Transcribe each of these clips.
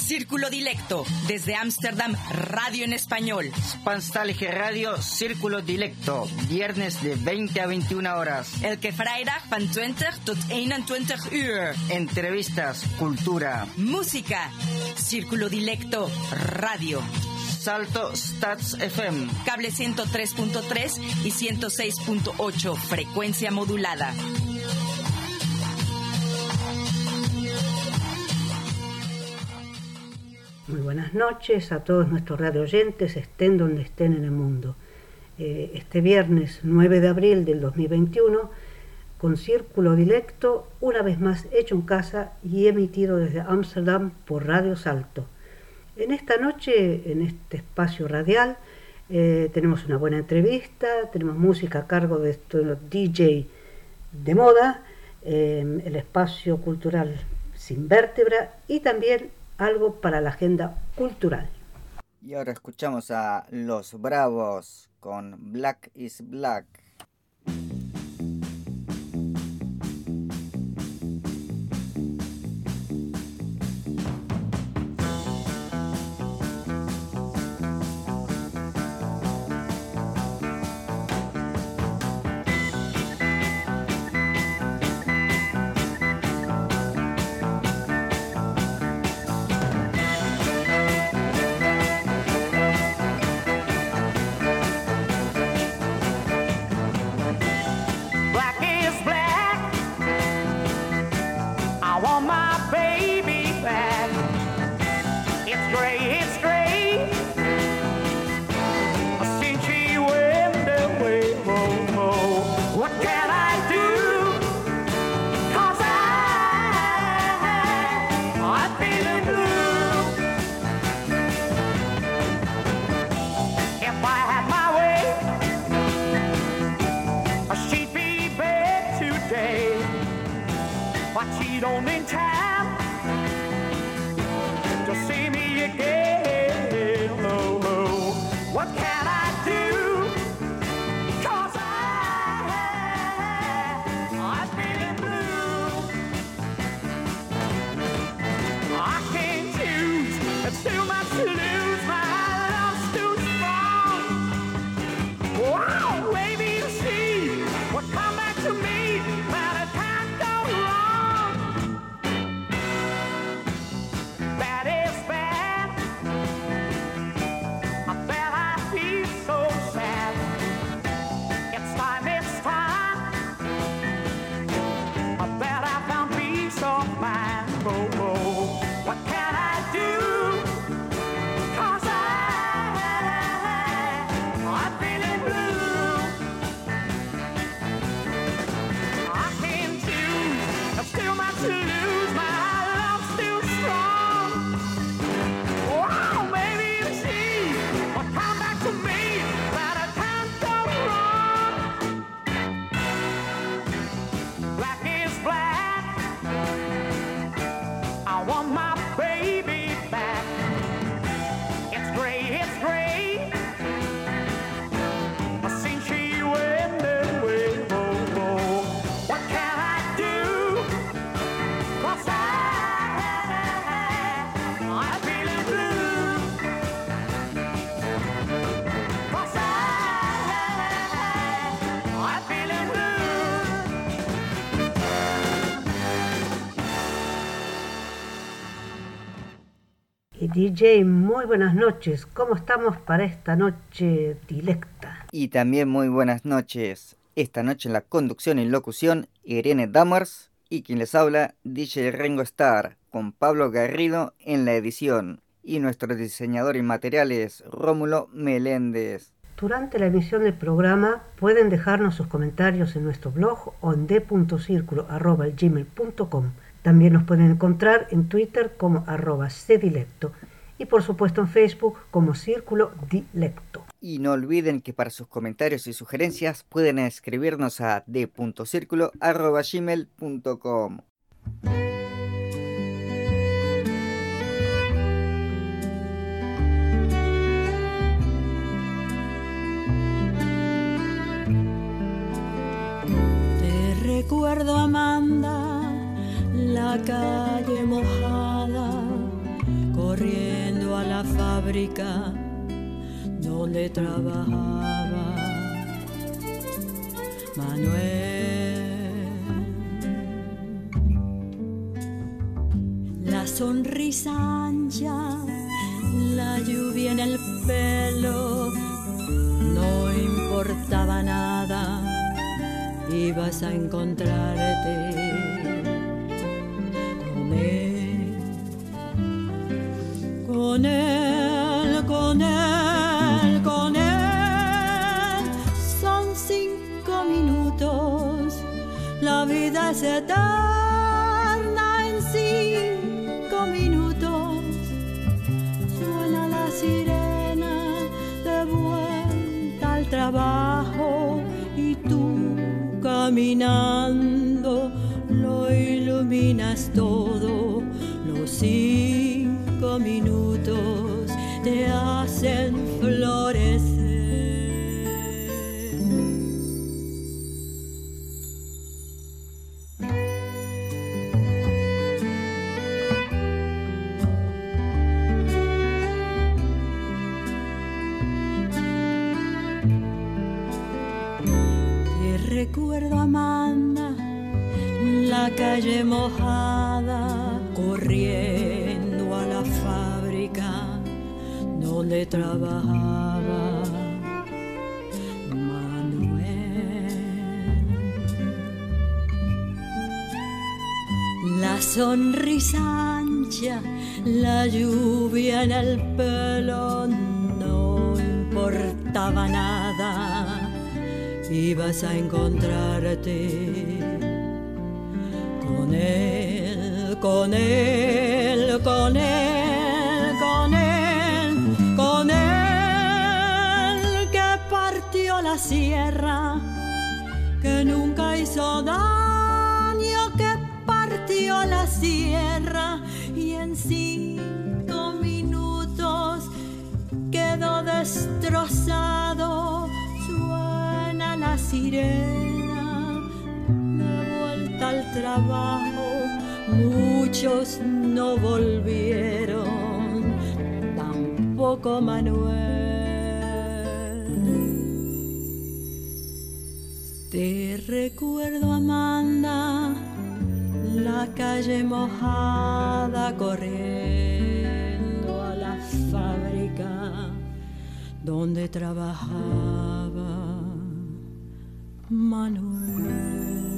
Círculo Dilecto, desde Ámsterdam, radio en español. Spanstallige Radio, Círculo Dilecto, viernes de 20 a 21 horas. Elke vrijdag van 20 tot 21 uur. Entrevistas, cultura, música. Círculo Dilecto, radio. Salto Stats FM. Cable 103.3 y 106.8, frecuencia modulada. Muy buenas noches a todos nuestros radio oyentes, estén donde estén en el mundo. Este viernes 9 de abril del 2021, con Círculo Dilecto, una vez más hecho en casa y emitido desde Ámsterdam por Radio Salto. En esta noche, en este espacio radial, tenemos una buena entrevista, tenemos música a cargo de estos DJ de moda, el espacio cultural Sin Vértebra y también algo para la agenda cultural. Y ahora escuchamos a Los Bravos con Black is Black. DJ, muy buenas noches. ¿Cómo estamos para esta noche dilecta? Y también muy buenas noches. Esta noche en la conducción y locución, Irene Dammers y quien les habla, DJ Ringo Starr, con Pablo Garrido en la edición. Y nuestro diseñador y materiales, Rómulo Meléndez. Durante la emisión del programa pueden dejarnos sus comentarios en nuestro blog o en d.circulo@gmail.com. También nos pueden encontrar en Twitter como @cdilecto y por supuesto en Facebook como Círculo Dilecto. Y no olviden que para sus comentarios y sugerencias pueden escribirnos a d.circulo@gmail.com. Te recuerdo, Amanda, la calle mojada corriendo a la fábrica donde trabajaba Manuel. La sonrisa ancha, la lluvia en el pelo, no importaba nada, ibas a encontrarte con él, con él, con él, con él. Son 5 minutos, la vida es eterna en 5 minutos. Suena la sirena de vuelta al trabajo y tú caminando lo iluminas todo. Los 5 minutos te hacen florecer. Recuerdo a Amanda, la calle mojada, corriendo a la fábrica donde trabajaba Manuel. La sonrisa ancha, la lluvia en el pelo, no importaba nada, ibas a encontrarte con él, con él, con él, con él, con él, que partió la sierra, que nunca hizo daño, que partió la sierra y en 5 minutos quedó destrozado. La sirena de vuelta al trabajo, muchos no volvieron, tampoco Manuel. Te recuerdo, Amanda, la calle mojada, corriendo a la fábrica donde trabajaba Manuel.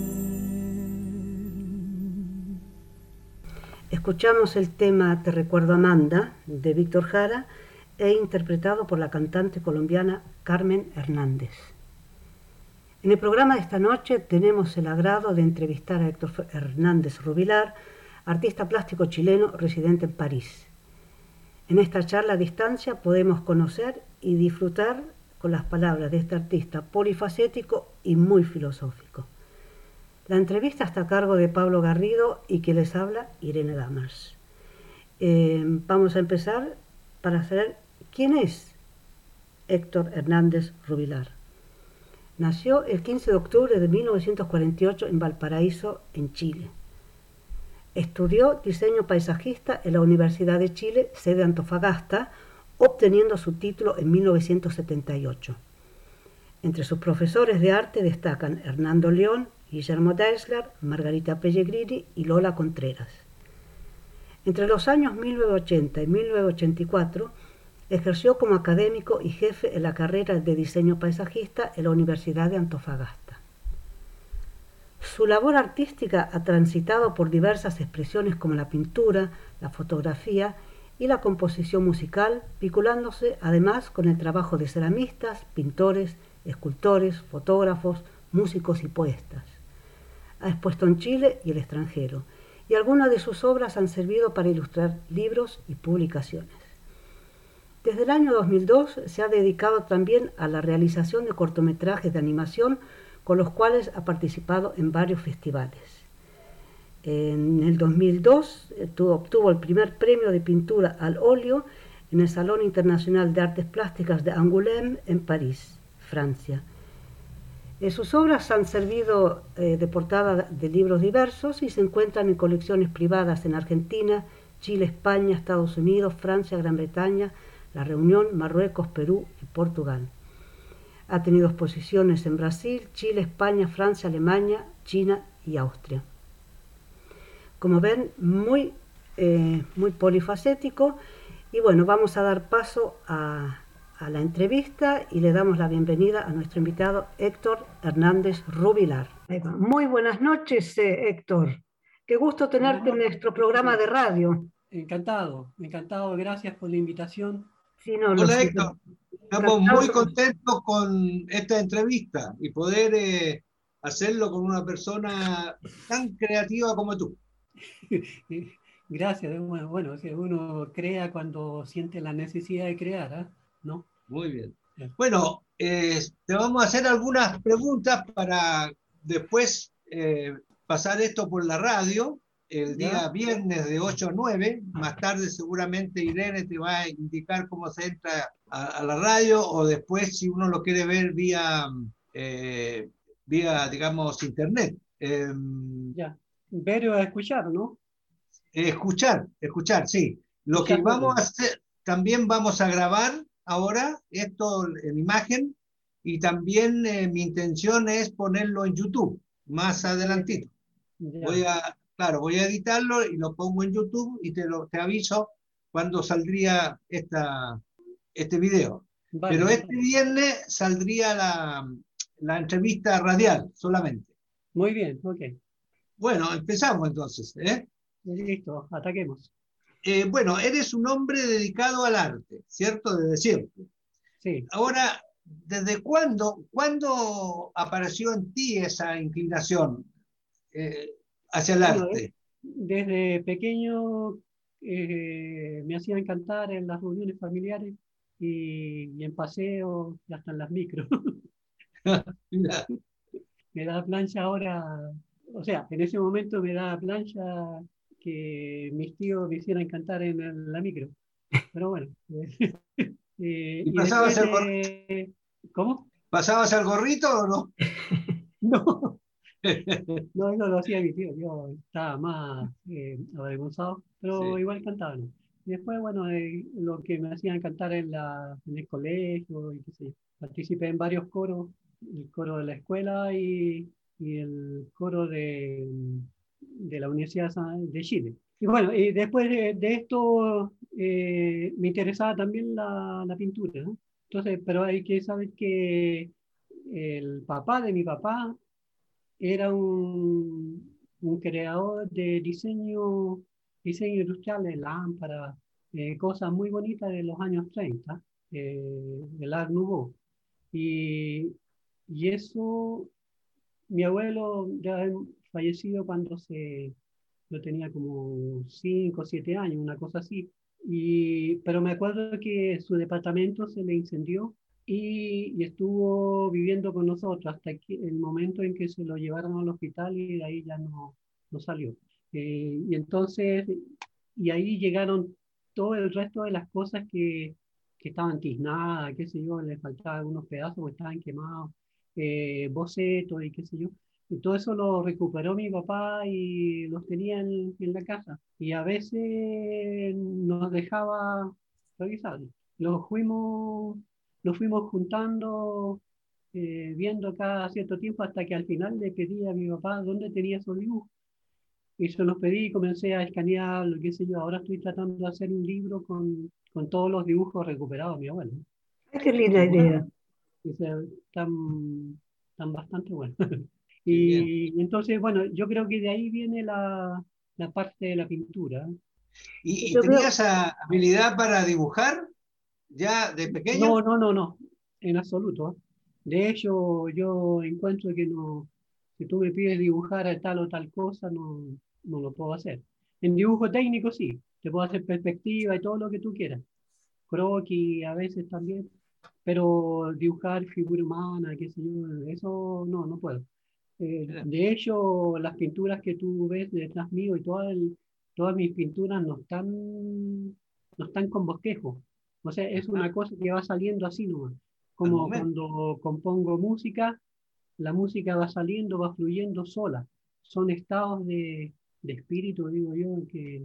Escuchamos el tema Te recuerdo Amanda de Víctor Jara e interpretado por la cantante colombiana Carmen Hernández. En el programa de esta noche tenemos el agrado de entrevistar a Héctor Hernández Rubilar, artista plástico chileno residente en París. En esta charla a distancia podemos conocer y disfrutar con las palabras de este artista polifacético y muy filosófico. La entrevista está a cargo de Pablo Garrido y que les habla Irene Damers. Vamos a empezar para saber quién es Héctor Hernández Rubilar. Nació el 15 de octubre de 1948 en Valparaíso, en Chile. Estudió diseño paisajista en la Universidad de Chile, sede Antofagasta, obteniendo su título en 1978. Entre sus profesores de arte destacan Hernando León, Guillermo Deisler, Margarita Pellegrini y Lola Contreras. Entre los años 1980 y 1984 ejerció como académico y jefe en la carrera de diseño paisajista en la Universidad de Antofagasta. Su labor artística ha transitado por diversas expresiones como la pintura, la fotografía y la composición musical, vinculándose además con el trabajo de ceramistas, pintores, escultores, fotógrafos, músicos y poetas. Ha expuesto en Chile y el extranjero, y algunas de sus obras han servido para ilustrar libros y publicaciones. Desde el año 2002 se ha dedicado también a la realización de cortometrajes de animación con los cuales ha participado en varios festivales. En el 2002 obtuvo el primer premio de pintura al óleo en el Salón Internacional de Artes Plásticas de Angoulême en París, Francia. Sus obras han servido de portada de libros diversos y se encuentran en colecciones privadas en Argentina, Chile, España, Estados Unidos, Francia, Gran Bretaña, La Reunión, Marruecos, Perú y Portugal. Ha tenido exposiciones en Brasil, Chile, España, Francia, Alemania, China y Austria. Como ven, muy polifacético. Y bueno, vamos a dar paso a la entrevista y le damos la bienvenida a nuestro invitado Héctor Hernández Rubilar. Muy buenas noches, Héctor. Qué gusto tenerte en nuestro programa de radio. Encantado, gracias por la invitación. Sí, no, hola Héctor, estamos muy contentos con esta entrevista y poder hacerlo con una persona tan creativa como tú. Gracias, bueno, que uno crea cuando siente la necesidad de crear, ¿no? Muy bien. Bueno, te vamos a hacer algunas preguntas para después pasar esto por la radio el día viernes de 8 a 9. Más tarde seguramente Irene te va a indicar cómo se entra a la radio, o después si uno lo quiere ver vía digamos, internet. Ver o escuchar, ¿no? Escuchar, sí. Lo que vamos a hacer, también vamos a grabar ahora esto en imagen, y también mi intención es ponerlo en YouTube más adelantito. Voy a editarlo y lo pongo en YouTube y te aviso cuando saldría este video. Vale, pero este viernes saldría la entrevista radial solamente. Muy bien, ok. Bueno, empezamos entonces, ¿eh? Listo, ataquemos. Bueno, eres un hombre dedicado al arte, ¿cierto? Desde siempre. Sí. Ahora, ¿desde cuándo apareció en ti esa inclinación hacia el arte? Desde pequeño me hacían cantar en las reuniones familiares y en paseos y hasta en las micros. Me da plancha ahora, o sea, en ese momento me da plancha que mis tíos me hicieran cantar en la micro. Pero bueno. ¿Y pasabas el gorrito? ¿Cómo? ¿Pasabas el gorrito o no? No. No, eso lo hacía mi tío. Yo estaba más avergonzado, pero sí, igual cantaba, ¿no? Y después, bueno, lo que me hacían cantar en el colegio, y qué sé yo. Participé en varios coros, el coro de la escuela y el coro de la Universidad de Chile. Y bueno, y después de esto me interesaba también la pintura, ¿no? Entonces, pero hay que saber que el papá de mi papá era un creador de diseño industrial de lámparas, cosas muy bonitas de los años 30, el Art Nouveau. Y eso, mi abuelo ya fallecido cuando yo tenía como 5 o 7 años, una cosa así. Pero me acuerdo que su departamento se le incendió y estuvo viviendo con nosotros hasta el momento en que se lo llevaron al hospital, y de ahí ya no salió. Y entonces, y ahí llegaron todo el resto de las cosas que estaban tiznadas, qué sé yo, les faltaban algunos pedazos o estaban quemados, bocetos y qué sé yo. Y todo eso lo recuperó mi papá y los tenía en la casa. Y a veces nos dejaba revisar. Los fuimos juntando, viendo cada cierto tiempo, hasta que al final le pedí a mi papá dónde tenía esos dibujos. Y se los pedí y comencé a escanear, qué sé yo. Ahora estoy tratando de hacer un libro con todos los dibujos recuperados de mi abuelo. ¡Qué linda idea! Están bastante buenos. Y entonces, bueno, yo creo que de ahí viene la parte de la pintura. ¿Y tenías habilidad para dibujar ya de pequeño? No, en absoluto. De hecho, yo encuentro que no, si tú me pides dibujar tal o tal cosa, no lo puedo hacer. En dibujo técnico sí, te puedo hacer perspectiva y todo lo que tú quieras. Croquis a veces también, pero dibujar figura humana, qué sé yo, eso no puedo. De hecho, las pinturas que tú ves detrás mío y todas mis pinturas no están con bosquejo. O sea, es una cosa que va saliendo así nomás. Como cuando compongo música, la música va saliendo, va fluyendo sola. Son estados de espíritu, digo yo, que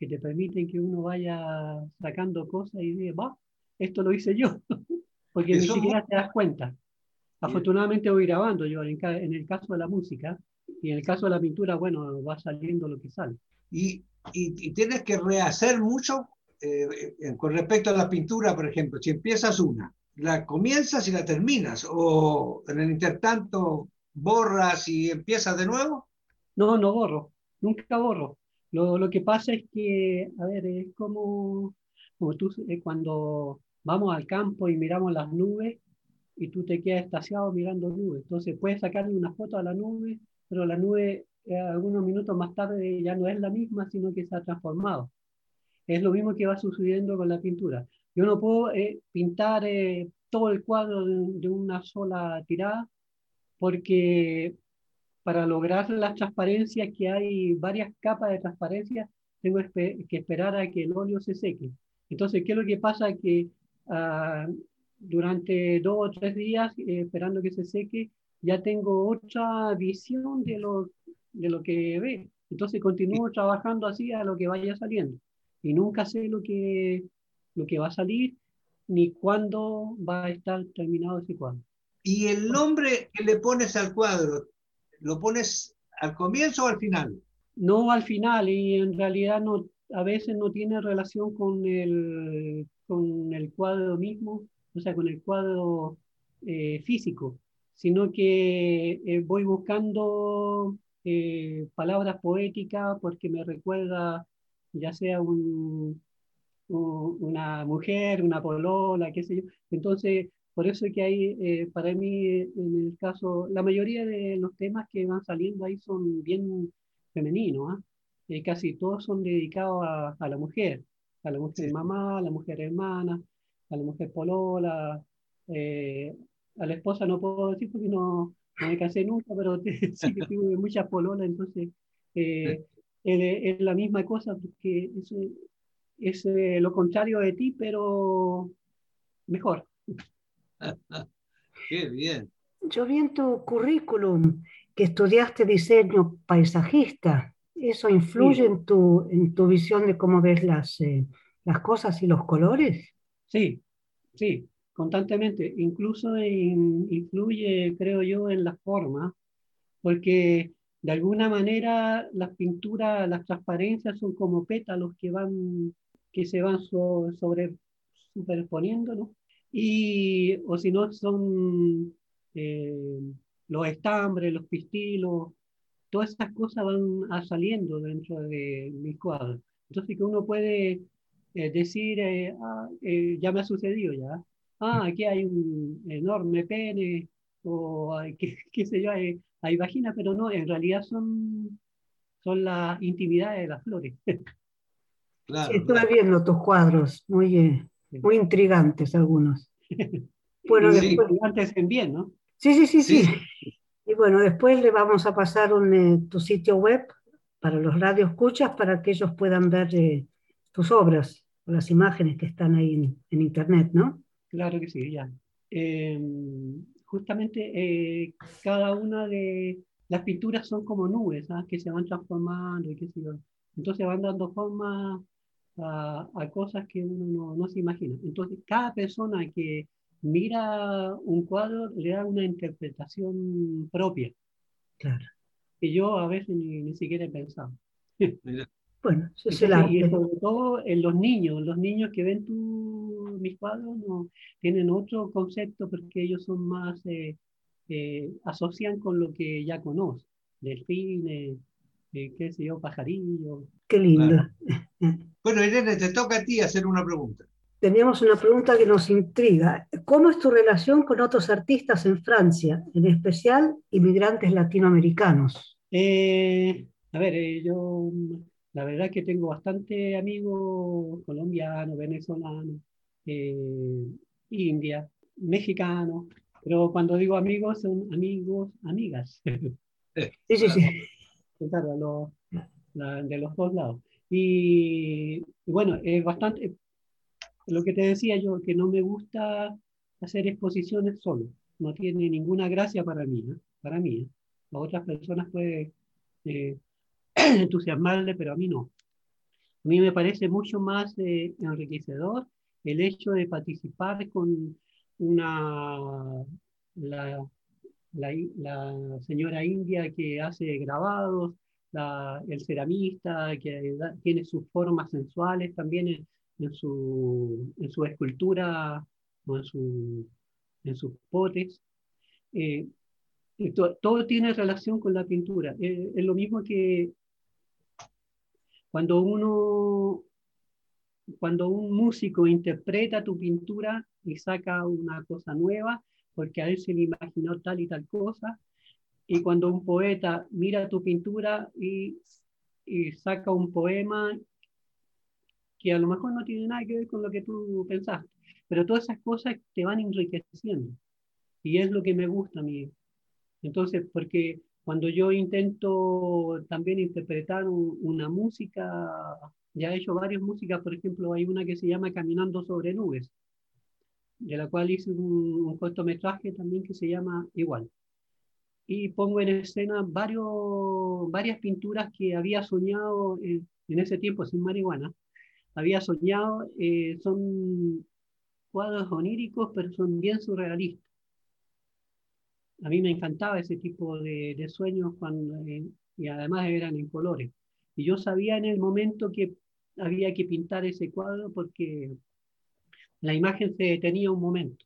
que te permiten que uno vaya sacando cosas y diga, va, esto lo hice yo, porque ni Eso es muy siquiera te das cuenta. bien. Afortunadamente voy grabando yo en el caso de la música, y en el caso de la pintura, bueno, va saliendo lo que sale. Y tienes que rehacer mucho con respecto a la pintura, por ejemplo. Si empiezas una, ¿la comienzas y la terminas? ¿O en el intertanto borras y empiezas de nuevo? No, no borro, nunca borro. Lo que pasa es que, a ver, es como tú cuando vamos al campo y miramos las nubes y tú te quedas estaciado mirando nubes. Entonces puedes sacarle una foto a la nube, pero la nube algunos minutos más tarde ya no es la misma, sino que se ha transformado. Es lo mismo que va sucediendo con la pintura. Yo no puedo pintar todo el cuadro de una sola tirada, porque para lograr las transparencias, que hay varias capas de transparencia, tengo que esperar a que el óleo se seque. Entonces, ¿qué es lo que pasa? Que ah, durante 2 o 3 días, esperando que se seque, ya tengo otra visión de lo que ve. Entonces continúo trabajando así a lo que vaya saliendo. Y nunca sé lo que va a salir, ni cuándo va a estar terminado ese cuadro. ¿Y el nombre que le pones al cuadro, lo pones al comienzo o al final? No al final, y en realidad no, a veces no tiene relación con el cuadro mismo, o sea, con el cuadro físico, sino que voy buscando palabras poéticas porque me recuerda ya sea una mujer, una polola, qué sé yo. Entonces, por eso es que hay, para mí, en el caso, la mayoría de los temas que van saliendo ahí son bien femeninos, ¿ah? Casi todos son dedicados a la mujer Sí, sí. mamá, a la mujer hermana, a la mujer polola, eh, a la esposa no puedo decir porque no me casé nunca, pero sí que tuve muchas pololas, entonces eh, es la misma cosa, porque es lo contrario de ti, pero mejor. Qué bien. Yo vi en tu currículum que estudiaste diseño paisajista. ¿Eso influye Sí, en tu visión de cómo ves las cosas y los colores? sí, sí, constantemente. Incluso influye, creo yo, en la forma, porque de alguna manera las pinturas, las transparencias son como pétalos que se van superponiendo, ¿no? Y, o si no, son eh, los estambres, los pistilos, todas esas cosas van saliendo dentro de mis cuadros. Entonces que uno puede decir, ya me ha sucedido ya, aquí hay un enorme pene, o qué sé yo, hay vagina, pero no, en realidad son las intimidades de las flores. Sí, Claro, estuve claro. viendo tus cuadros, muy intrigantes algunos. Bueno, Sí, después, Antes en bien, ¿no? sí, sí, sí, sí. sí, Y bueno, después le vamos a pasar tu sitio web para los radioescuchas para que ellos puedan ver tus obras, las imágenes que están ahí en internet, ¿no? Claro que sí, ya. Eh, Justamente cada una de las pinturas son como nubes, ¿ah? Que se van transformando y qué sé yo. Entonces van dando forma a cosas que uno no se imagina. Entonces cada persona que mira un cuadro le da una interpretación propia, Claro. que yo a veces ni siquiera he pensado. mira, Bueno, eso es el Entonces, y arte. sobre todo en los niños que ven mis cuadros no, tienen otro concepto porque ellos son más, asocian con lo que ya conocen, delfines, qué sé yo, pajarillos. Qué lindo. claro. Bueno, Irene, te toca a ti hacer una pregunta. Teníamos una pregunta que nos intriga. ¿Cómo es tu relación con otros artistas en Francia, en especial inmigrantes latinoamericanos? A ver, yo la verdad que tengo bastante amigos colombianos, venezolanos, eh, India, mexicanos, pero cuando digo amigos son amigos, amigas, Sí, sí, sí. Claro. claro, de los dos lados. Y bueno, es bastante, lo que te decía yo, que no me gusta hacer exposiciones solo, no tiene ninguna gracia para mí, ¿eh? Para mí, ¿eh? A otras personas puede eh, entusiasmarle, pero a mí no. A mí me parece mucho más enriquecedor el hecho de participar con una, la, la señora india que hace grabados, el ceramista que tiene sus formas sensuales también en su escultura o en sus potes. Eh, todo tiene relación con la pintura. Es lo mismo que cuando cuando un músico interpreta tu pintura y saca una cosa nueva, porque a él se le imaginó tal y tal cosa, y cuando un poeta mira tu pintura y saca un poema que a lo mejor no tiene nada que ver con lo que tú pensaste, pero todas esas cosas te van enriqueciendo, y es lo que me gusta a mí. Entonces, porque cuando yo intento también interpretar una música, ya he hecho varias músicas, por ejemplo, hay una que se llama Caminando sobre nubes, de la cual hice un cortometraje también que se llama igual. Y pongo en escena varias pinturas que había soñado en ese tiempo sin marihuana. Había soñado, son cuadros oníricos, pero son bien surrealistas. A mí me encantaba ese tipo de sueños y además eran en colores. Y yo sabía en el momento que había que pintar ese cuadro porque la imagen se detenía un momento.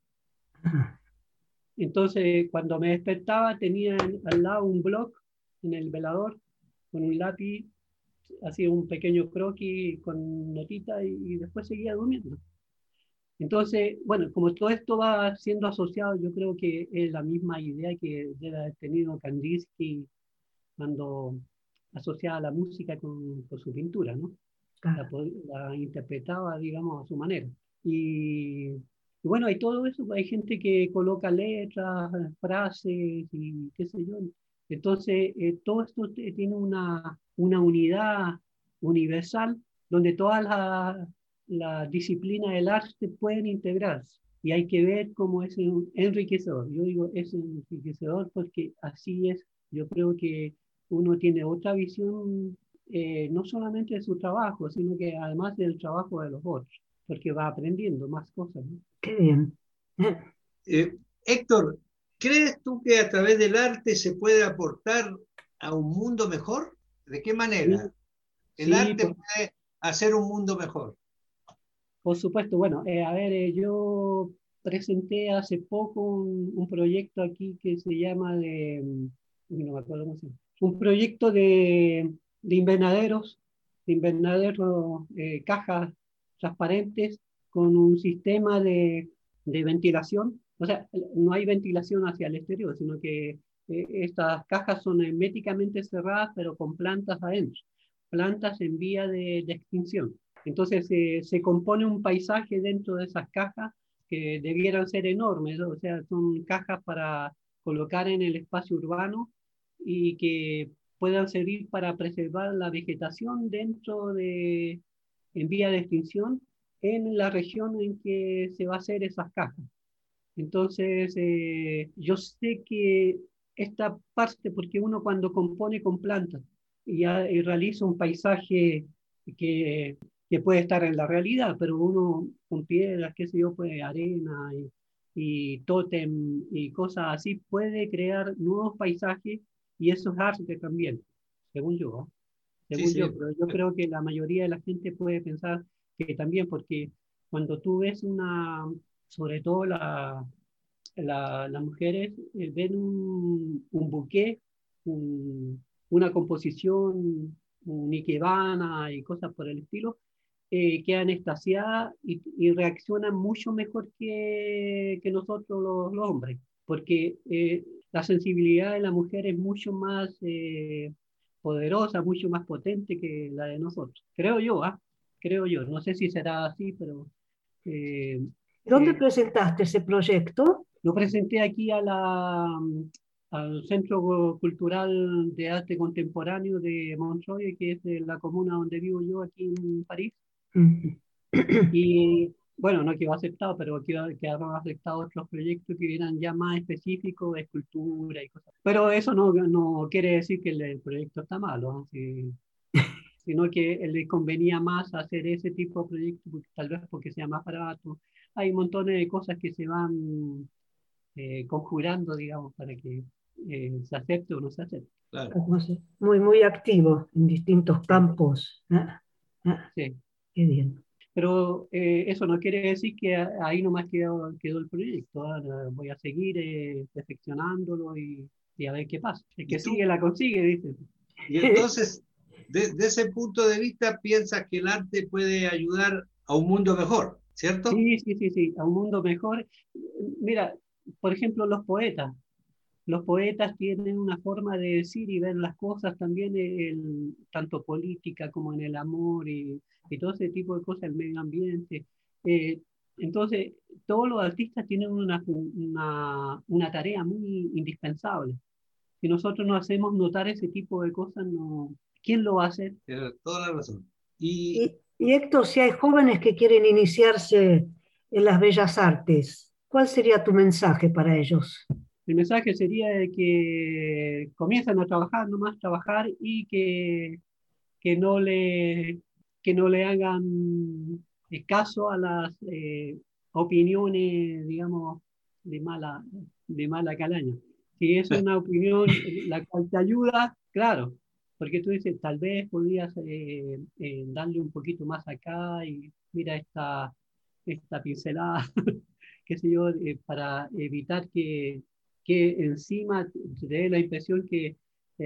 Entonces, cuando me despertaba, tenía al lado un bloc en el velador con un lápiz, hacía un pequeño croquis con notita y después seguía durmiendo. Entonces, bueno, como todo esto va siendo asociado, yo creo que es la misma idea que debe haber tenido Kandinsky cuando asociaba la música con su pintura, ¿no? La interpretaba, digamos, a su manera. Y bueno, hay todo eso, hay gente que coloca letras, frases y qué sé yo. Entonces, todo esto tiene una unidad universal donde todas las disciplinas del arte pueden integrarse. Y hay que ver cómo es enriquecedor. Yo digo, es enriquecedor porque así es. Yo creo que uno tiene otra visión, no solamente de su trabajo, sino que además del trabajo de los otros, porque va aprendiendo más cosas, ¿no? Qué bien. Héctor, ¿crees tú que a través del arte se puede aportar a un mundo mejor? ¿De qué manera? El arte puede hacer un mundo mejor. Por supuesto, bueno, a ver, yo presenté hace poco un proyecto aquí que se llama no me acuerdo cómo se llama, un proyecto de invernaderos, cajas transparentes con un sistema de ventilación. O sea, no hay ventilación hacia el exterior, sino que estas cajas son herméticamente cerradas, pero con plantas adentro, plantas en vía de extinción. Entonces se compone un paisaje dentro de esas cajas que debieran ser enormes, ¿no? O sea, son cajas para colocar en el espacio urbano y que puedan servir para preservar la vegetación en vía de extinción en la región en que se va a hacer esas cajas. Entonces, yo sé que esta parte, porque uno cuando compone con plantas y realiza un paisaje que puede estar en la realidad, pero uno con piedras, qué sé yo, pues arena y tótem y cosas así, puede crear nuevos paisajes y eso es arte también, según yo, ¿no? Según Sí, yo, sí. pero yo creo que la mayoría de la gente puede pensar que también, porque cuando tú ves sobre todo las mujeres ven un buqué, una composición, un ikebana y cosas por el estilo, quedan extasiadas y reaccionan mucho mejor que nosotros los hombres, porque la sensibilidad de la mujer es mucho más poderosa, mucho más potente que la de nosotros. Creo yo, ¿ah? Creo yo. No sé si será así, pero... ¿Dónde presentaste ese proyecto? Lo presenté aquí al Centro Cultural de Arte Contemporáneo de Montreuil, que es de la comuna donde vivo yo, aquí en París. Y bueno, no quedó aceptado, pero quedaron aceptados otros proyectos que eran ya más específicos de escultura y cosas. Pero eso no quiere decir que el proyecto está malo, ¿no? Sí. sino que le convenía más hacer ese tipo de proyectos, tal vez porque sea más barato. Hay montones de cosas que se van conjurando, digamos, para que se acepte o no se acepte. Claro. Muy, muy activo en distintos campos. Sí. Qué bien. Pero eso no quiere decir que ahí nomás quedó el proyecto. Ahora voy a seguir perfeccionándolo y a ver qué pasa. El que sigue la consigue, dice. Y entonces, de ese punto de vista, piensas que el arte puede ayudar a un mundo mejor, ¿cierto? Sí, a un mundo mejor. Mira, por ejemplo, los poetas. Los poetas tienen una forma de decir y ver las cosas también, tanto política como en el amor y todo ese tipo de cosas, el medio ambiente. Eh, entonces, todos los artistas tienen una tarea muy indispensable. Si nosotros no hacemos notar ese tipo de cosas, no, ¿quién lo va a hacer? Tienes toda la razón. Y Y Héctor, si hay jóvenes que quieren iniciarse en las bellas artes, ¿cuál sería tu mensaje para ellos? El mensaje sería de que comiencen a trabajar, nomás trabajar y que no le, que no le hagan caso a las opiniones, digamos, de mala calaña. Si es una opinión la cual te ayuda, claro, porque tú dices, tal vez podrías darle un poquito más acá y mira esta pincelada, qué sé yo, para evitar que encima te dé la impresión que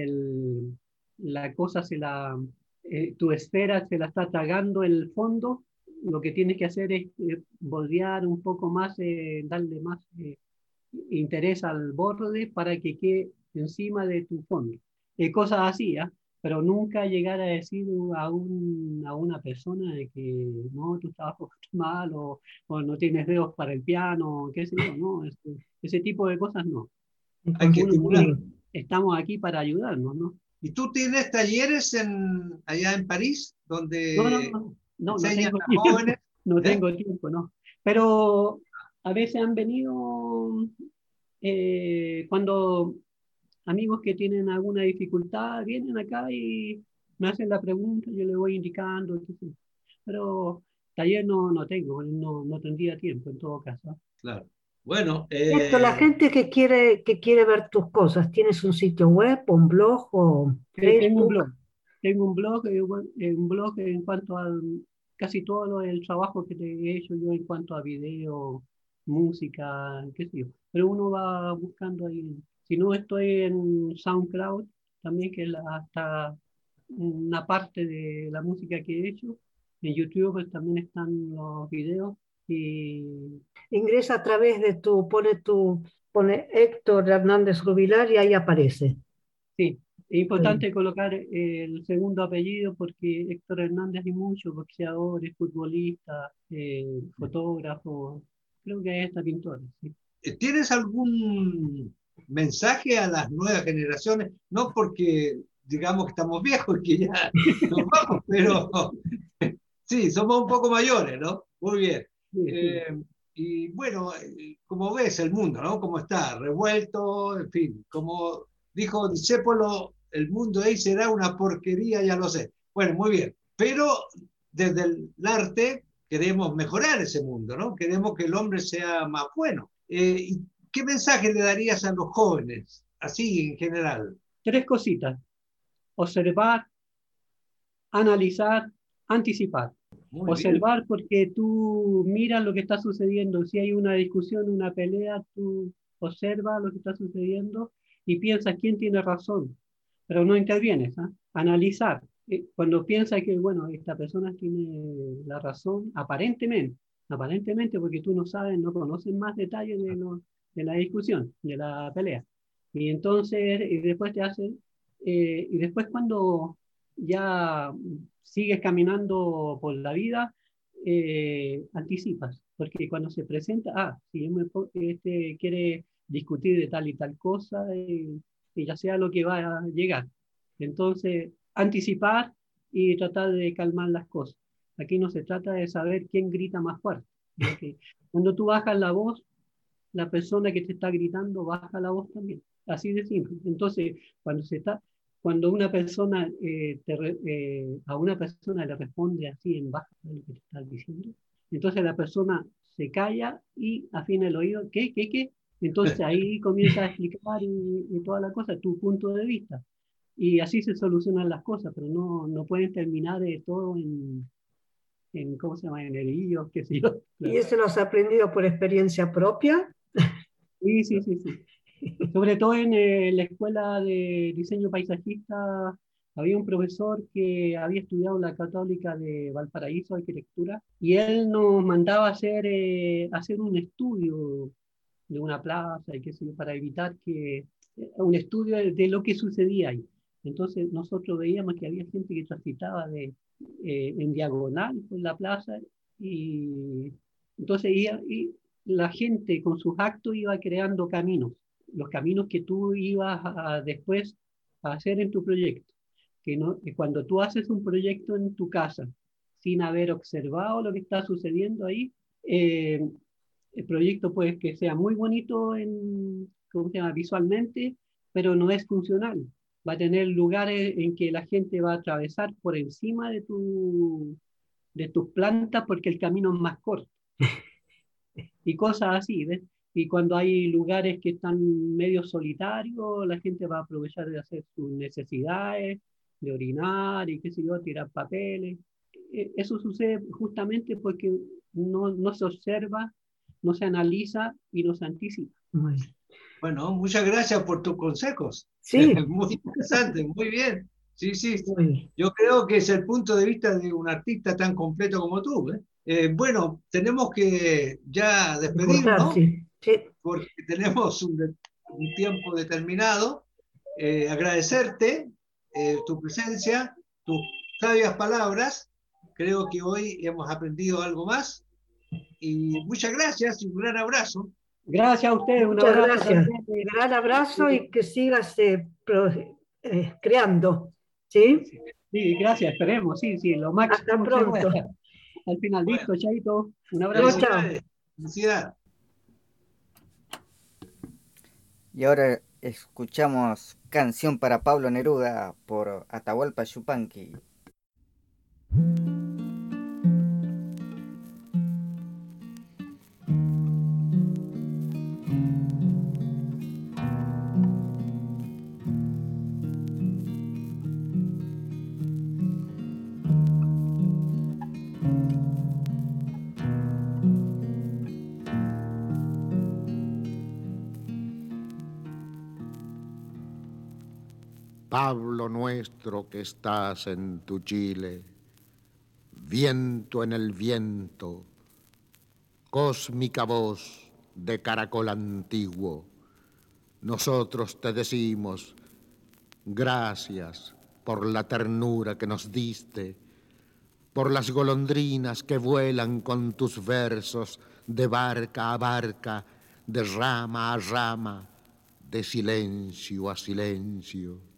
la cosa tu esfera se la está tragando el fondo. Lo que tienes que hacer es bordear un poco más, darle más interés al borde para que quede encima de tu fondo. Cosas así, ¿eh? Pero nunca llegar a decir a una persona de que no, tu trabajo está mal o no tienes dedos para el piano, qué sé yo, ¿no? Ese tipo de cosas no. hay que estimular. Estamos aquí para ayudarnos, ¿no? ¿Y tú tienes talleres allá en París donde No enseñan tengo a tiempo, jóvenes? no tengo tiempo, no. Pero a veces han venido cuando amigos que tienen alguna dificultad vienen acá y me hacen la pregunta, yo les voy indicando, qué sé yo. Pero taller no tengo, no tendría tiempo en todo caso. Claro. Bueno, Héctor, la gente que quiere ver tus cosas, ¿tienes un sitio web, un blog o Tengo un Facebook? blog. Tengo un blog en cuanto a casi todo el trabajo que he hecho yo en cuanto a video, música, qué sé yo. Pero uno va buscando ahí. Si no, estoy en SoundCloud también, que es hasta una parte de la música que he hecho. En YouTube pues, también están los videos. Y Ingresa a través de pone Héctor Hernández Rubilar y ahí aparece. sí, es importante colocar el segundo apellido porque Héctor Hernández hay muchos boxeadores, futbolistas, fotógrafos, creo que hay hasta pintores. ¿Sí? ¿Tienes algún mensaje a las nuevas generaciones? No porque digamos que estamos viejos y que ya nos vamos, pero sí, somos un poco mayores, ¿no? Muy bien. Sí, sí. Y bueno, como ves el mundo, ¿no? Cómo está, revuelto, en fin, como dijo Discépolo, el mundo ahí será una porquería, ya lo sé. Bueno, muy bien. Pero desde el arte queremos mejorar ese mundo, ¿no? Queremos que el hombre sea más bueno. ¿Y qué mensaje le darías a los jóvenes, así en general? 3 cositas: observar, analizar, anticipar. Muy bien. Observar porque tú miras lo que está sucediendo. Si hay una discusión, una pelea, tú observas lo que está sucediendo y piensas quién tiene razón, pero no intervienes. ¿Eh? Analizar. Cuando piensas que, bueno, esta persona tiene la razón, aparentemente, porque tú no sabes, no conoces más detalles de la discusión, de la pelea. Y entonces, y después y después cuando ya sigues caminando por la vida, anticipas, porque cuando se presenta, si este quiere discutir de tal y tal cosa, y ya sea lo que va a llegar. Entonces, anticipar y tratar de calmar las cosas. Aquí no se trata de saber quién grita más fuerte. Porque cuando tú bajas la voz, la persona que te está gritando baja la voz también. Así de simple. Entonces, cuando cuando una persona a una persona le responde así en baja lo que te estás diciendo, entonces la persona se calla y afina el oído, ¿qué? Entonces ahí comienza a explicar y toda la cosa, tu punto de vista. Y así se solucionan las cosas, pero no pueden terminar todo en ¿cómo se llama? En herillos, qué sé yo. ¿Y eso lo has aprendido por experiencia propia? Sí. Sobre todo en la escuela de diseño paisajista había un profesor que había estudiado en la Católica de Valparaíso, arquitectura, y él nos mandaba a hacer un estudio de una plaza y qué sé yo, para evitar un estudio de lo que sucedía ahí. Entonces nosotros veíamos que había gente que transitaba en diagonal por la plaza y entonces y la gente con sus actos iba creando caminos, los caminos que tú ibas después a hacer en tu proyecto. Que cuando tú haces un proyecto en tu casa sin haber observado lo que está sucediendo ahí, el proyecto puede que sea muy bonito ¿cómo se llama? Visualmente, pero no es funcional. Va a tener lugares en que la gente va a atravesar por encima de tus plantas porque el camino es más corto. Y cosas así, ¿ves? Y cuando hay lugares que están medio solitarios, la gente va a aprovechar de hacer sus necesidades, de orinar y qué sé yo, tirar papeles. Eso sucede justamente porque no se observa, no se analiza y no se anticipa. Bueno, muchas gracias por tus consejos. Sí. Muy interesante, muy bien. Sí. Muy bien. Yo creo que es el punto de vista de un artista tan completo como tú. Bueno, tenemos que ya despedirnos, Sí. porque tenemos un tiempo determinado. Agradecerte tu presencia, tus sabias palabras. Creo que hoy hemos aprendido algo más. Y muchas gracias y un gran abrazo. Gracias a ustedes, un Muchas abrazo gracias. también. Gran abrazo y que sigas creando. ¿Sí? Sí, gracias, esperemos, sí, lo máximo Hasta que pronto. se pueda. Al final, Bueno, listo, chaito, un abrazo. Chao. Felicidades. Y ahora escuchamos Canción para Pablo Neruda por Atahualpa Yupanqui. Pablo nuestro que estás en tu Chile, viento en el viento, cósmica voz de caracol antiguo, nosotros te decimos gracias por la ternura que nos diste, por las golondrinas que vuelan con tus versos de barca a barca, de rama a rama, de silencio a silencio.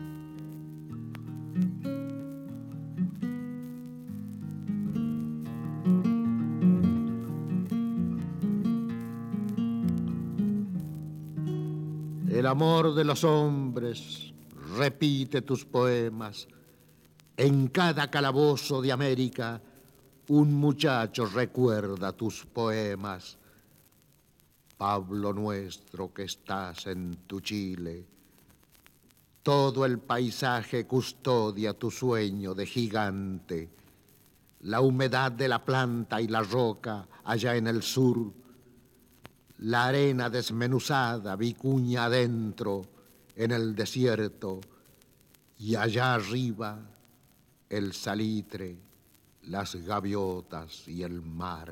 El amor de los hombres repite tus poemas. En cada calabozo de América un muchacho recuerda tus poemas. Pablo nuestro que estás en tu Chile, todo el paisaje custodia tu sueño de gigante. La humedad de la planta y la roca allá en el sur, la arena desmenuzada vicuña adentro en el desierto, y allá arriba el salitre, las gaviotas y el mar.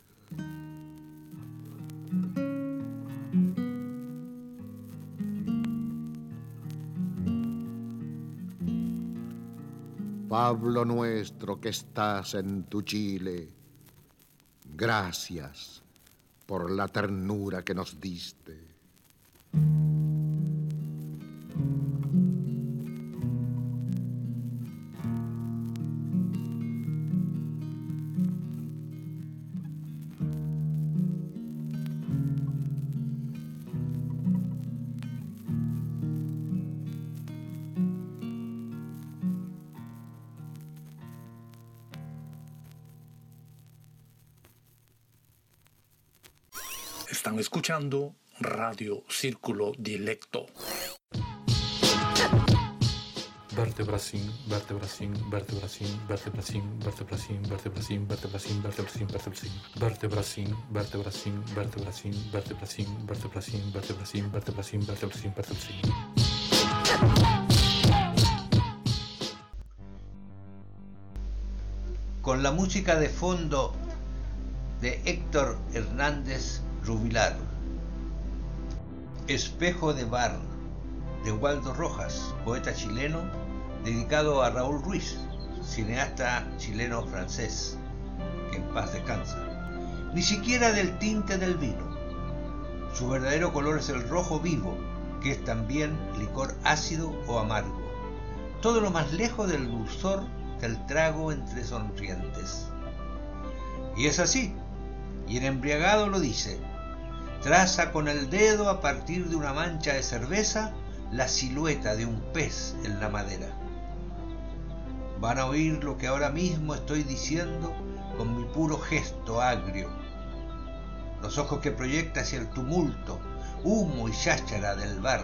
Pablo nuestro que estás en tu Chile, gracias por la ternura que nos diste. Están escuchando Radio Círculo Dilecto. Vertebracín, vertebracín, vertebracín, vertebracín, vertebracín, vertebracín, vertebracín, vertebracín, vertebracín, vertebracín, vertebracín, vertebracín, vertebracín, vertebracín, vertebracín, vertebracín, vertebracín, vertebracín. Con la música de fondo de Héctor Hernández Rubilar, Espejo de Bar, de Waldo Rojas, poeta chileno, dedicado a Raúl Ruiz, cineasta chileno-francés, que en paz descansa. Ni siquiera del tinte del vino. Su verdadero color es el rojo vivo, que es también licor ácido o amargo. Todo lo más lejos del dulzor del trago entre sonrientes. Y es así, y en embriagado lo dice. Traza con el dedo a partir de una mancha de cerveza la silueta de un pez en la madera. Van a oír lo que ahora mismo estoy diciendo con mi puro gesto agrio. Los ojos que proyecta hacia el tumulto, humo y cháchara del bar.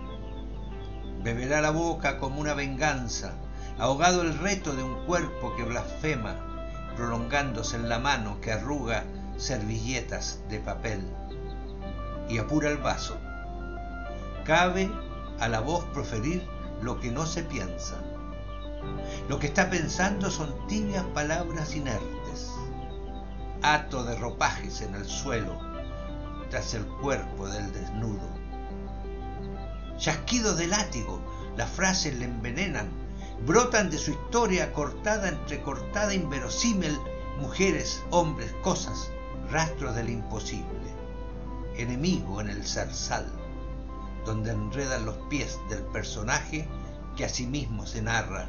Beberá la boca como una venganza, ahogado el reto de un cuerpo que blasfema, prolongándose en la mano que arruga servilletas de papel. Y apura el vaso. Cabe a la voz proferir lo que no se piensa. Lo que está pensando son tibias palabras inertes, hato de ropajes en el suelo, tras el cuerpo del desnudo. Chasquidos de látigo, las frases le envenenan, brotan de su historia cortada, entrecortada, inverosímil, mujeres, hombres, cosas, rastros del imposible, enemigo en el zarzal, donde enredan los pies del personaje que a sí mismo se narra.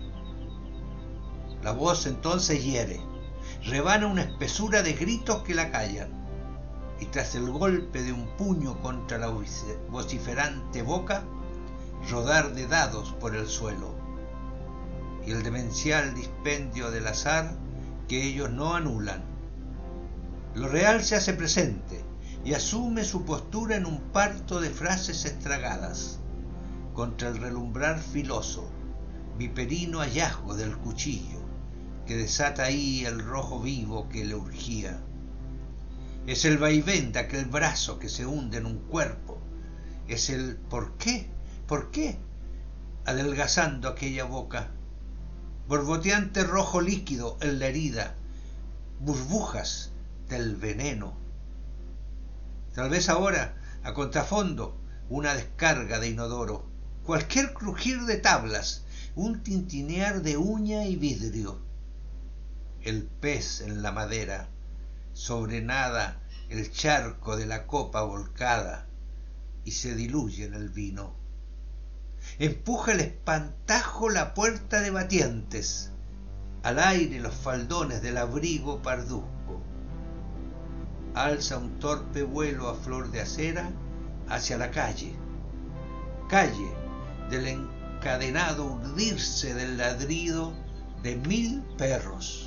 La voz entonces hiere, rebana una espesura de gritos que la callan, y tras el golpe de un puño contra la vociferante boca, rodar de dados por el suelo, y el demencial dispendio del azar que ellos no anulan. Lo real se hace presente, y asume su postura en un parto de frases estragadas, contra el relumbrar filoso, viperino hallazgo del cuchillo, que desata ahí el rojo vivo que le urgía. Es el vaivén de aquel brazo que se hunde en un cuerpo, es el ¿por qué? ¿Por qué? Adelgazando aquella boca, borboteante rojo líquido en la herida, burbujas del veneno. Tal vez ahora, a contrafondo, una descarga de inodoro, cualquier crujir de tablas, un tintinear de uña y vidrio. El pez en la madera, sobre nada el charco de la copa volcada, y se diluye en el vino. Empuja el espantajo la puerta de batientes, al aire los faldones del abrigo parduzco. Alza un torpe vuelo a flor de acera hacia la calle, calle del encadenado urdirse del ladrido de 1000 perros.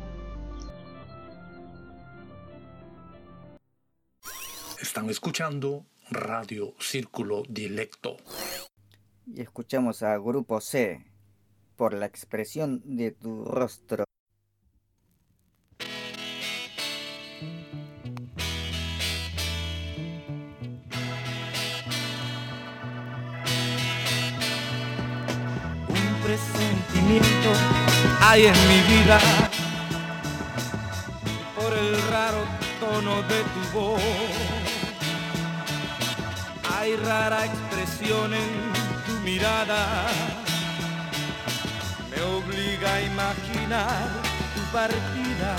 Están escuchando Radio Círculo Dilecto. Y escuchamos a Grupo C, Por la expresión de tu rostro. Presentimiento hay en mi vida por el raro tono de tu voz. Hay rara expresión en tu mirada, me obliga a imaginar tu partida.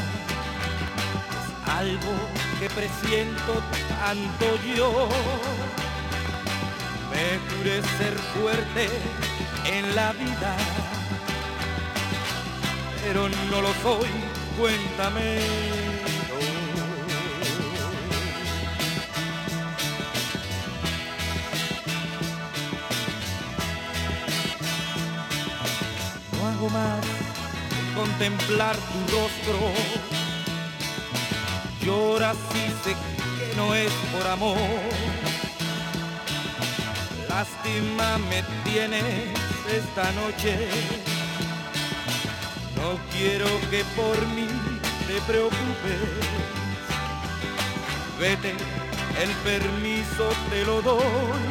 Es algo que presiento tanto yo, me juré ser fuerte en la vida, pero no lo soy, cuéntame. No hago más que contemplar tu rostro, lloras y sé que no es por amor. Lástima me tienes esta noche, no quiero que por mí te preocupes. Vete, el permiso te lo doy.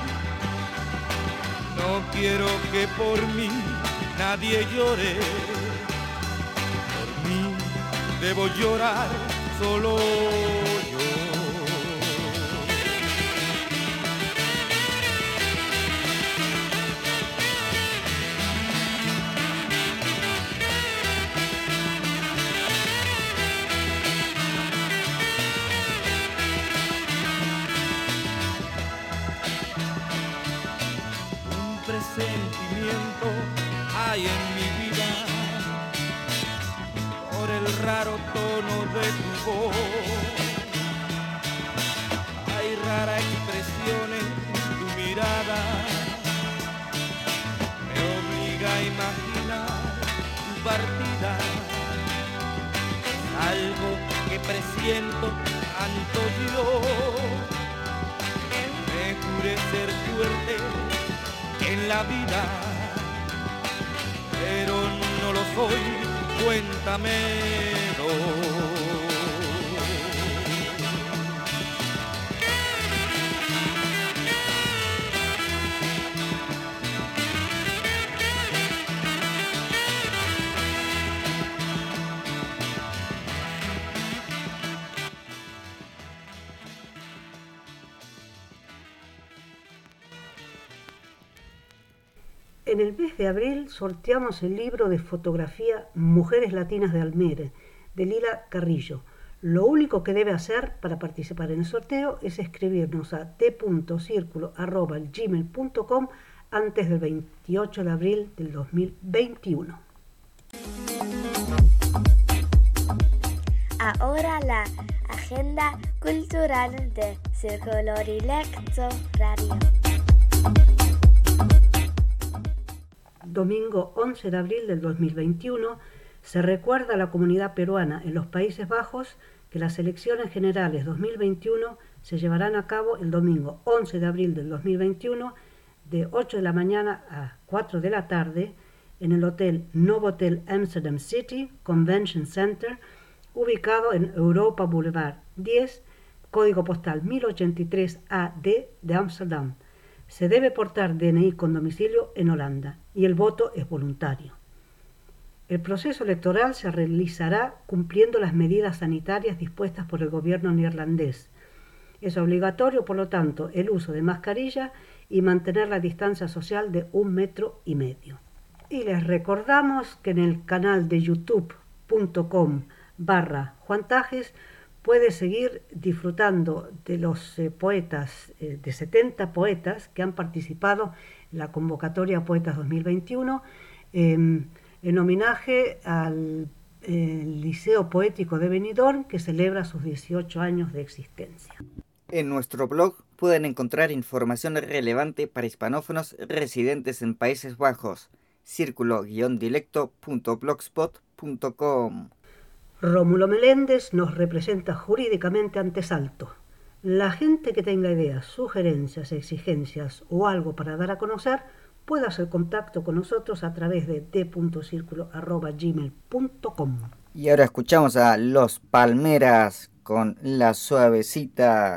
No quiero que por mí nadie llore. Por mí debo llorar solo yo. Sentimiento hay en mi vida por el raro tono de tu voz. Hay rara expresión en tu mirada, me obliga a imaginar tu partida. Algo que presiento tanto yo, me juré ser fuerte en la vida, pero no lo soy, cuéntamelo. En el mes de abril sorteamos el libro de fotografía Mujeres Latinas de Almere, de Lila Carrillo. Lo único que debe hacer para participar en el sorteo es escribirnos a t.circulo@gmail.com antes del 28 de abril del 2021. Ahora la agenda cultural de Círculo Dilecto Radio. Domingo 11 de abril del 2021 se recuerda a la comunidad peruana en los Países Bajos que las elecciones generales 2021 se llevarán a cabo el domingo 11 de abril del 2021 de 8 de la mañana a 4 de la tarde en el Hotel Novotel Amsterdam City Convention Center, ubicado en Europa Boulevard 10, código postal 1083 AD de Ámsterdam. Se debe portar DNI con domicilio en Holanda y el voto es voluntario. El proceso electoral se realizará cumpliendo las medidas sanitarias dispuestas por el gobierno neerlandés. Es obligatorio, por lo tanto, el uso de mascarilla y mantener la distancia social de 1,5 metros. Y les recordamos que en el canal de youtube.com/Juantajes puede seguir disfrutando de los poetas, de 70 poetas que han participado en la convocatoria Poetas 2021 en homenaje al Liceo Poético de Benidorm, que celebra sus 18 años de existencia. En nuestro blog pueden encontrar información relevante para hispanófonos residentes en Países Bajos, círculo-dilecto.blogspot.com. Rómulo Meléndez nos representa jurídicamente ante Salto. La gente que tenga ideas, sugerencias, exigencias o algo para dar a conocer puede hacer contacto con nosotros a través de t.circulo@gmail.com. Y ahora escuchamos a Los Palmeras con La Suavecita.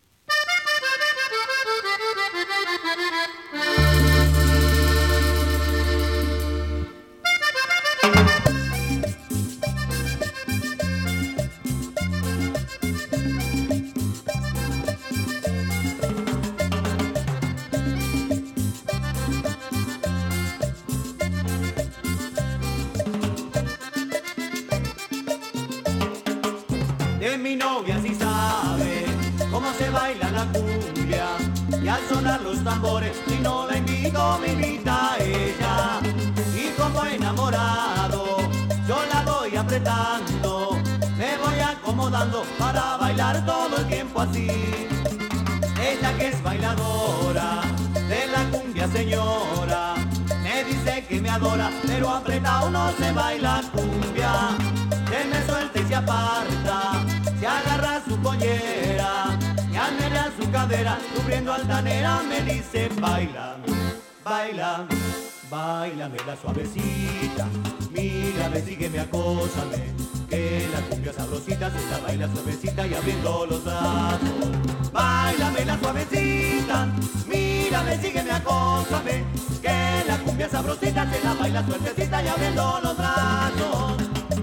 De mi novia sí sabe cómo se baila la cumbia, y al sonar los tambores, si no la invito, me invita a ella. Y como enamorado, yo la voy apretando, me voy acomodando para bailar todo el tiempo así. Ella que es bailadora de la cumbia señora, me dice que me adora, pero apretado no se baila cumbia. Que me suelta y se aparta, se agarra su pollera, su cadera, cubriendo altanera, me dice baila, baila, bailame la suavecita, mírame, sígueme, acósame, que la cumbia sabrosita se la baila suavecita y abriendo los brazos. Báilame la suavecita, mírame, sígueme, acósame, que la cumbia sabrosita se la baila suavecita y abriendo los brazos.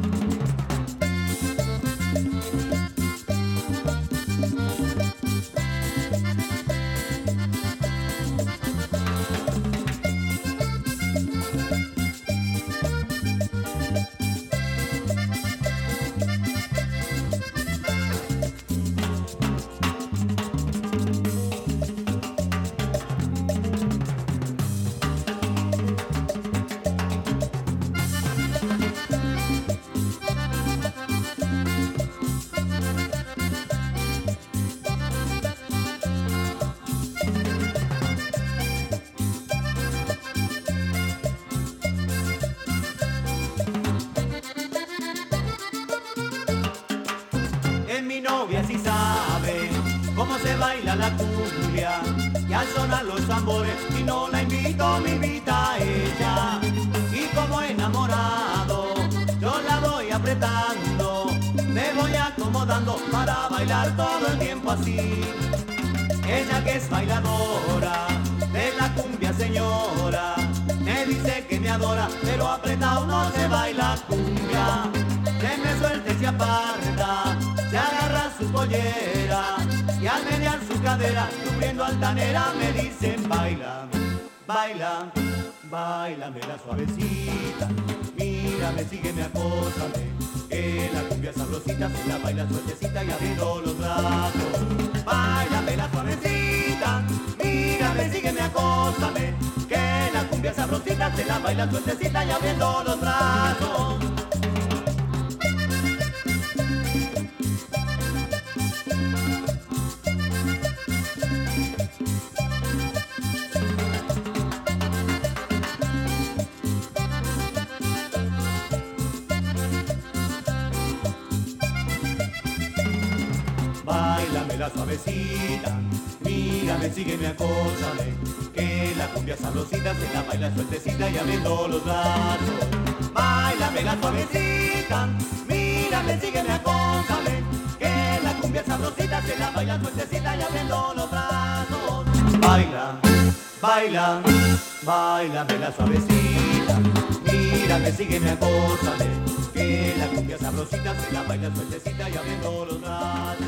La cumbia y al sonar los tambores y no la invito, me invita a ella y como enamorado yo la voy apretando, me voy acomodando para bailar todo el tiempo así. Ella que es bailadora de la cumbia señora me dice que me adora, pero apretado no se baila cumbia, se me suelta y se aparta, se agarra su pollera y al menear su cadera, cubriendo altanera, me dicen baila, baila, bailame la suavecita, mírame, sígueme, acósame, que la cumbia sabrosita se la baila suertecita y abriendo los brazos. Bailame la suavecita, mírame, sígueme, acósame, que la cumbia sabrosita se la baila suertecita y abriendo los brazos. Báilame la suavecita, mírame, sígueme, acósame, que la cumbia sabrosita se la baila suertecita y abriendo los brazos. Báilame la suavecita, mírame, sígueme, acósame, que la cumbia sabrosita se la baila suertecita y abriendo los brazos. Baila, baila, bailame la suavecita, mírame, sígueme, acósame, que la cumbia sabrosita se la baila suertecita y abriendo los brazos.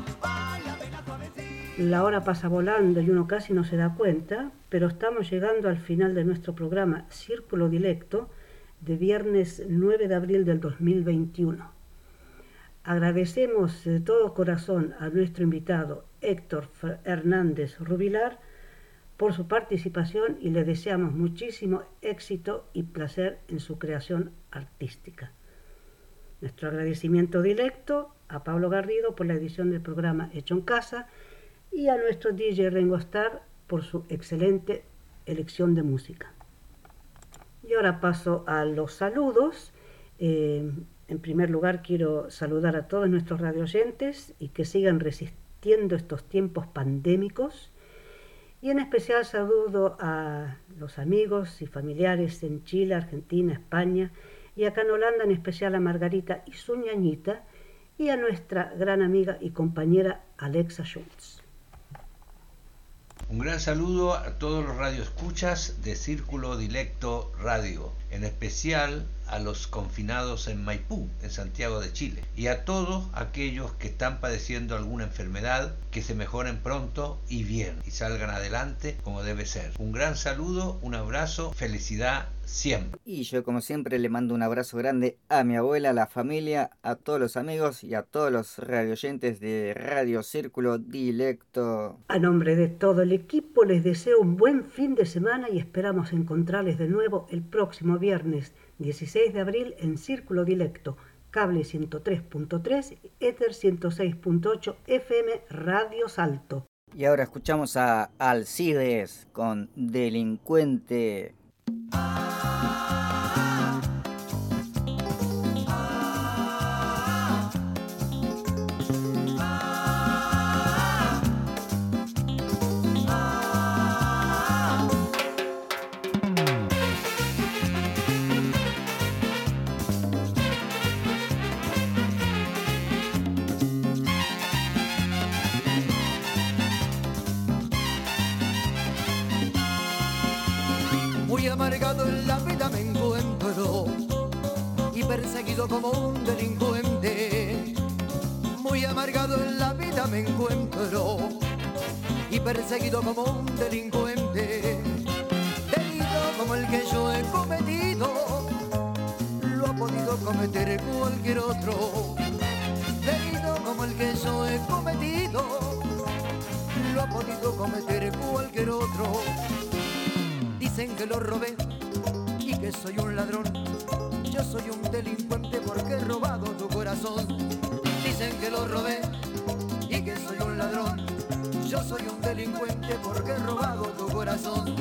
La hora pasa volando y uno casi no se da cuenta, pero estamos llegando al final de nuestro programa Círculo Dilecto de viernes 9 de abril del 2021. Agradecemos de todo corazón a nuestro invitado Héctor Hernández Rubilar por su participación y le deseamos muchísimo éxito y placer en su creación artística. Nuestro agradecimiento directo a Pablo Garrido por la edición del programa Hecho en Casa y a nuestro DJ Ringo Starr por su excelente elección de música. Y ahora paso a los saludos. En primer lugar quiero saludar a todos nuestros radioyentes y que sigan resistiendo estos tiempos pandémicos. Y en especial saludo a los amigos y familiares en Chile, Argentina, España y acá en Holanda, en especial a Margarita y su ñañita y a nuestra gran amiga y compañera Alexa Schultz. Un gran saludo a todos los radioescuchas de Círculo Dilecto Radio, en especial a los confinados en Maipú, en Santiago de Chile, y a todos aquellos que están padeciendo alguna enfermedad, que se mejoren pronto y bien, y salgan adelante como debe ser. Un gran saludo, un abrazo, felicidad siempre. Y yo como siempre le mando un abrazo grande a mi abuela, a la familia, a todos los amigos y a todos los radioyentes de Radio Círculo Dilecto. A nombre de todo el equipo les deseo un buen fin de semana y esperamos encontrarles de nuevo el próximo viernes 16 de abril en Círculo Dilecto, cable 103.3, éter 106.8, FM Radio Salto. Y ahora escuchamos a Alcides con Delincuente. amargado en la vida me encuentro y perseguido como un delincuente. Muy amargado en la vida me encuentro y perseguido como un delincuente. Delito como el que yo he cometido lo ha podido cometer cualquier otro. Delito como el que yo he cometido lo ha podido cometer cualquier otro. Dicen que lo robé y que soy un ladrón. Yo soy un delincuente porque he robado tu corazón. Dicen que lo robé y que soy un ladrón. Yo soy un delincuente porque he robado tu corazón.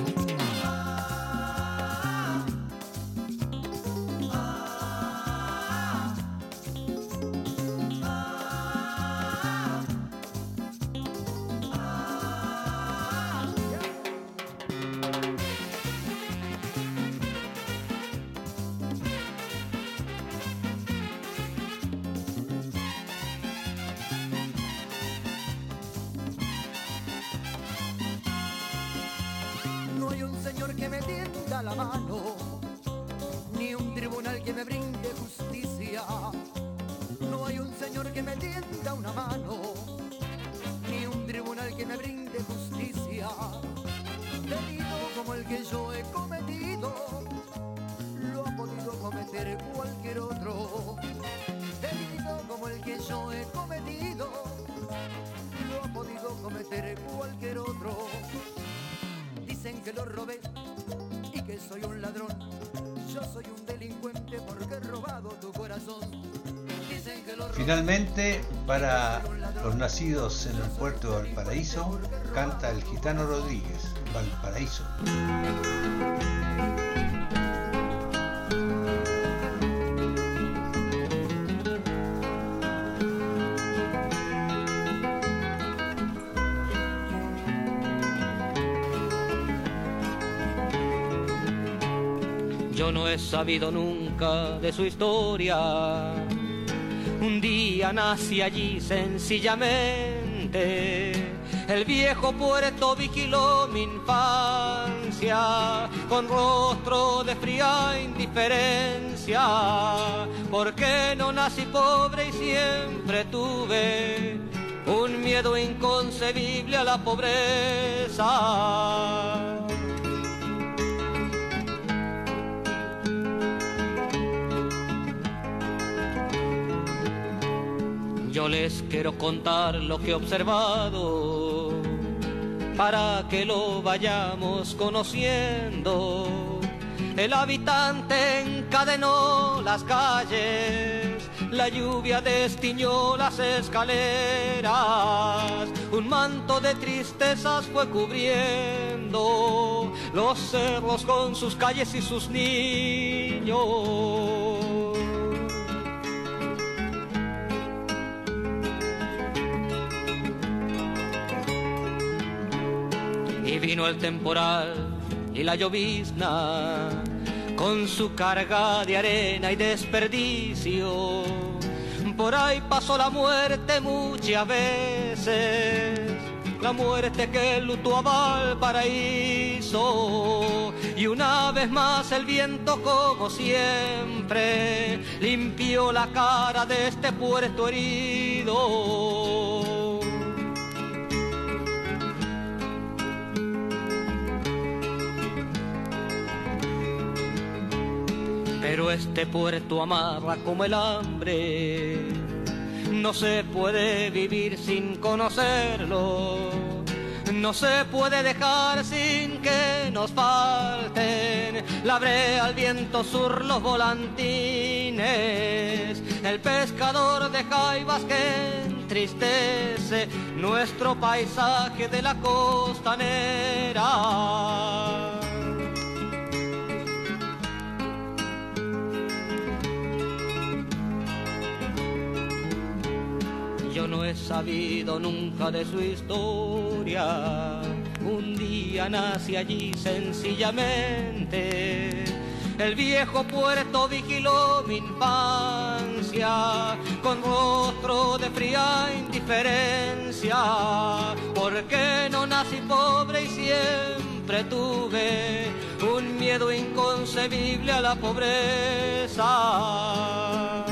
Que me tienda la mano, ni un tribunal que me brinde justicia. No hay un señor que me tienda una mano, ni un tribunal que me brinde justicia. Delito como el que yo he cometido lo ha podido cometer cualquier otro. Delito como el que yo he cometido lo ha podido cometer cualquier otro. Dicen que lo robé y que soy un ladrón. Yo soy un delincuente porque he robado tu corazón. Dicen que lo robé. Finalmente, para los nacidos en el puerto de Valparaíso, canta el Gitano Rodríguez, Valparaíso. Yo no he sabido nunca de su historia. Un día nací allí sencillamente. El viejo puerto vigiló mi infancia con rostro de fría indiferencia. Porque no nací pobre y siempre tuve un miedo inconcebible a la pobreza. Yo les quiero contar lo que he observado para que lo vayamos conociendo. El habitante encadenó las calles, la lluvia destiñó las escaleras, un manto de tristezas fue cubriendo los cerros con sus calles y sus niños. Y vino el temporal y la llovizna con su carga de arena y desperdicio. Por ahí pasó la muerte muchas veces, la muerte que lutó a Valparaíso. Y una vez más el viento, como siempre, limpió la cara de este puerto herido. Pero este puerto amarra como el hambre, no se puede vivir sin conocerlo, no se puede dejar sin que nos falten la brea, el viento sur, los volantines, el pescador de jaivas que entristece nuestro paisaje de la costanera. Yo no he sabido nunca de su historia. Un día nací allí sencillamente. El viejo puerto vigiló mi infancia con rostro de fría indiferencia. Porque no nací pobre y siempre tuve un miedo miedo inconcebible a la pobreza.